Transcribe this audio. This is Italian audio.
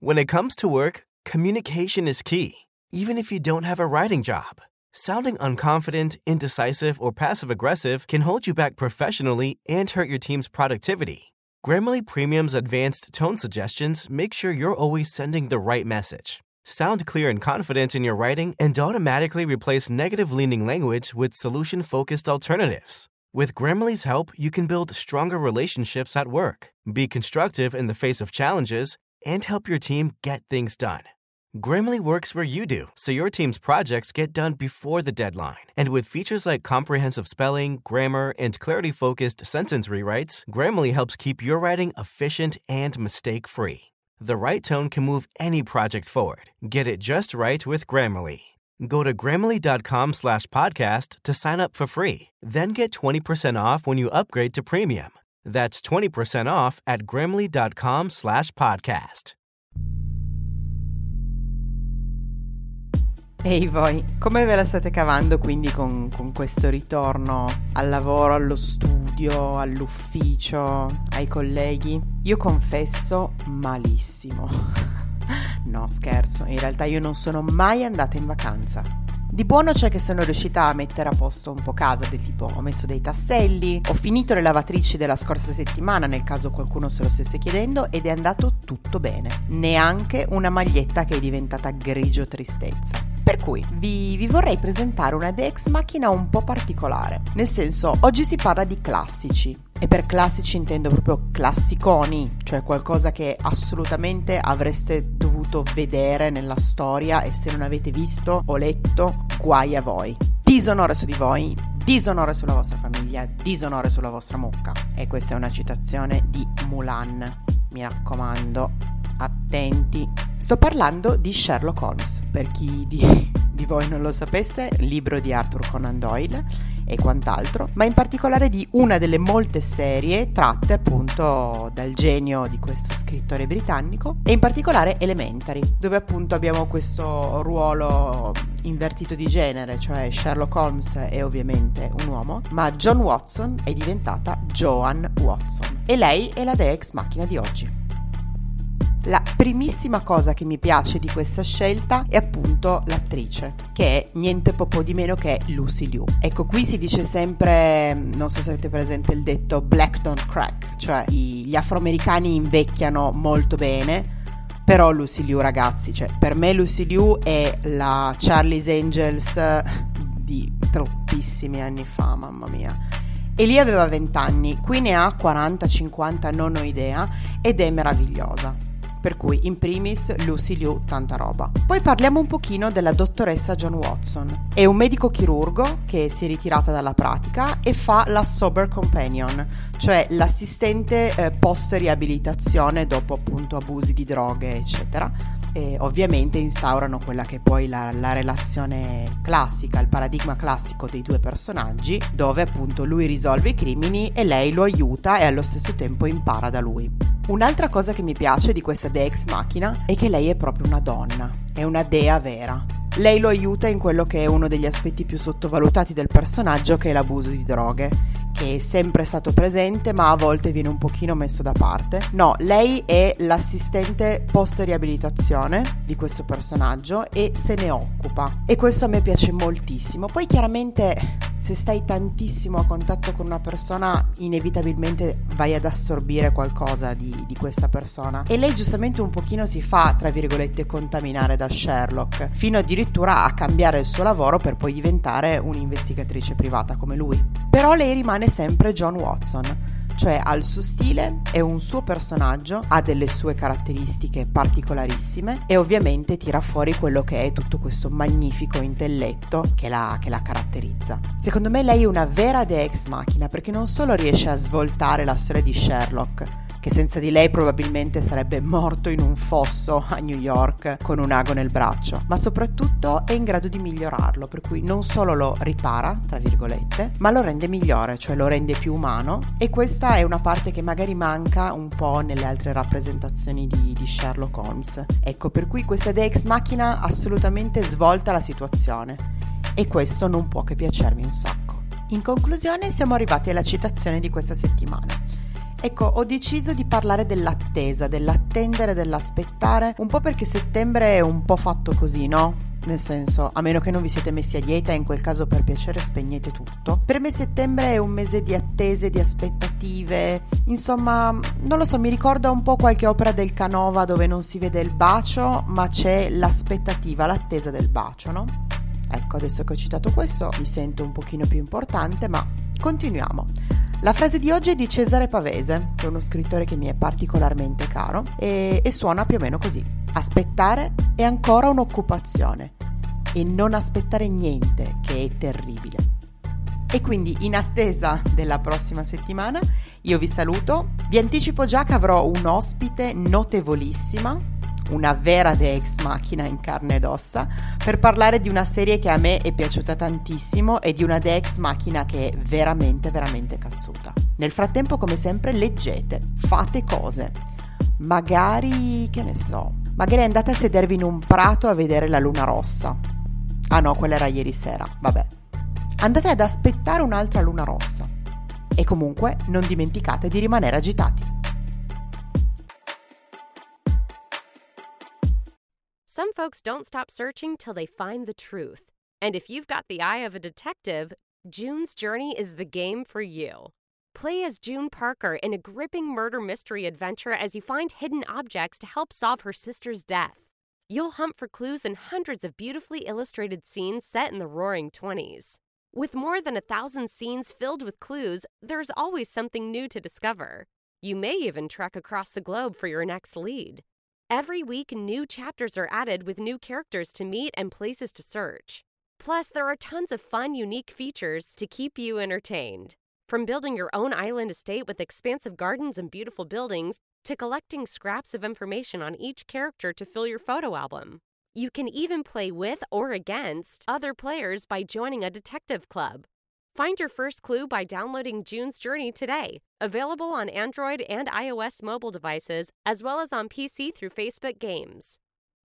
When it comes to work, communication is key, even if you don't have a writing job. Sounding unconfident, indecisive, or passive-aggressive can hold you back professionally and hurt your team's productivity. Grammarly Premium's advanced tone suggestions make sure you're always sending the right message. Sound clear and confident in your writing and automatically replace negative-leaning language with solution-focused alternatives. With Grammarly's help, you can build stronger relationships at work, be constructive in the face of challenges, and help your team get things done. Grammarly works where you do, so your team's projects get done before the deadline. And with features like comprehensive spelling, grammar, and clarity-focused sentence rewrites, Grammarly helps keep your writing efficient and mistake-free. The right tone can move any project forward. Get it just right with Grammarly. Go to Grammarly.com/podcast to sign up for free. Then get 20% off when you upgrade to premium. That's 20% off at Grammarly.com/podcast. Ehi voi, come ve la state cavando quindi con questo ritorno al lavoro, allo studio, all'ufficio, ai colleghi? Io confesso malissimo. No, scherzo, in realtà io non sono mai andata in vacanza. Di buono c'è che sono riuscita a mettere a posto un po' casa, del tipo ho messo dei tasselli, ho finito le lavatrici della scorsa settimana nel caso qualcuno se lo stesse chiedendo ed è andato tutto bene. Neanche una maglietta che è diventata grigio tristezza. Per cui vi vorrei presentare una Deus Machina un po' particolare. Nel senso, oggi si parla di classici. E per classici intendo proprio classiconi, cioè qualcosa che assolutamente avreste dovuto vedere nella storia e se non avete visto o letto, guai a voi. Disonore su di voi, disonore sulla vostra famiglia, disonore sulla vostra mucca. E questa è una citazione di Mulan. Mi raccomando, attenti. Sto parlando di Sherlock Holmes, per chi di voi non lo sapesse, libro di Arthur Conan Doyle e quant'altro, ma in particolare di una delle molte serie tratte appunto dal genio di questo scrittore britannico, e in particolare Elementary, dove appunto abbiamo questo ruolo invertito di genere, cioè Sherlock Holmes è ovviamente un uomo, ma John Watson è diventata Joan Watson e lei è la Deus Machina di oggi. La primissima cosa che mi piace di questa scelta è appunto l'attrice, che è niente po' di meno che Lucy Liu. Ecco, qui si dice sempre, non so se avete presente il detto black don't crack, cioè gli afroamericani invecchiano molto bene, però Lucy Liu, ragazzi, cioè per me Lucy Liu è la Charlie's Angels di troppissimi anni fa, mamma mia. E lì aveva 20 anni, qui ne ha 40-50, non ho idea, ed è meravigliosa. Per cui, in primis, Lucy Liu, tanta roba. Poi parliamo un pochino della dottoressa Joan Watson. È un medico chirurgo che si è ritirata dalla pratica e fa la sober companion, cioè l'assistente post-riabilitazione dopo appunto abusi di droghe, eccetera. E ovviamente instaurano quella che è poi la relazione classica, il paradigma classico dei due personaggi, dove appunto lui risolve i crimini e lei lo aiuta e allo stesso tempo impara da lui. Un'altra cosa che mi piace di questa Deus Machina è che lei è proprio una donna, è una dea vera. Lei lo aiuta in quello che è uno degli aspetti più sottovalutati del personaggio, che è l'abuso di droghe, che è sempre stato presente ma a volte viene un pochino messo da parte. No, lei è l'assistente post-riabilitazione di questo personaggio e se ne occupa, e questo a me piace moltissimo. Poi chiaramente se stai tantissimo a contatto con una persona inevitabilmente vai ad assorbire qualcosa di questa persona, e lei giustamente un pochino si fa, tra virgolette, contaminare da Sherlock, fino addirittura a cambiare il suo lavoro per poi diventare un'investigatrice privata come lui. Però lei rimane sempre John Watson, cioè ha il suo stile, è un suo personaggio, ha delle sue caratteristiche particolarissime e ovviamente tira fuori quello che è tutto questo magnifico intelletto che la caratterizza. Secondo me lei è una vera Deus Machina, perché non solo riesce a svoltare la storia di Sherlock, che senza di lei probabilmente sarebbe morto in un fosso a New York con un ago nel braccio, ma soprattutto è in grado di migliorarlo, per cui non solo lo ripara, tra virgolette, ma lo rende migliore, cioè lo rende più umano, e questa è una parte che magari manca un po' nelle altre rappresentazioni di Sherlock Holmes. Ecco, per cui questa Deus Machina assolutamente svolta la situazione, e questo non può che piacermi un sacco. In conclusione siamo arrivati alla citazione di questa settimana. Ecco, ho deciso di parlare dell'attesa, dell'attendere, dell'aspettare, un po' perché settembre è un po' fatto così, no? Nel senso, a meno che non vi siete messi a dieta e in quel caso per piacere spegnete tutto. Per me settembre è un mese di attese, di aspettative, insomma, non lo so, mi ricorda un po' qualche opera del Canova dove non si vede il bacio, ma c'è l'aspettativa, l'attesa del bacio, no? Ecco, adesso che ho citato questo mi sento un pochino più importante, ma continuiamo. La frase di oggi è di Cesare Pavese, che è uno scrittore che mi è particolarmente caro, e suona più o meno così. Aspettare è ancora un'occupazione e non aspettare niente, che è terribile. E quindi, in attesa della prossima settimana, io vi saluto. Vi anticipo già che avrò un ospite notevolissima, una vera Deus Machina in carne ed ossa, per parlare di una serie che a me è piaciuta tantissimo e di una Deus Machina che è veramente, veramente cazzuta. Nel frattempo, come sempre, leggete, fate cose. Magari, che ne so, magari andate a sedervi in un prato a vedere la luna rossa. Ah no, quella era ieri sera, vabbè. Andate ad aspettare un'altra luna rossa. E comunque non dimenticate di rimanere agitati. Some folks don't stop searching till they find the truth. And if you've got the eye of a detective, June's Journey is the game for you. Play as June Parker in a gripping murder mystery adventure as you find hidden objects to help solve her sister's death. You'll hunt for clues in hundreds of beautifully illustrated scenes set in the Roaring '20s. With more than 1,000 scenes filled with clues, there's always something new to discover. You may even trek across the globe for your next lead. Every week, new chapters are added with new characters to meet and places to search. Plus, there are tons of fun, unique features to keep you entertained. From building your own island estate with expansive gardens and beautiful buildings, to collecting scraps of information on each character to fill your photo album. You can even play with or against other players by joining a detective club. Find your first clue by downloading June's Journey today. Available on Android and iOS mobile devices, as well as on PC through Facebook Games.